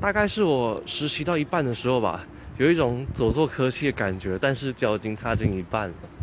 大概是我实习到一半的时候吧，有一种走错科系的感觉，但是脚已经踏进一半了。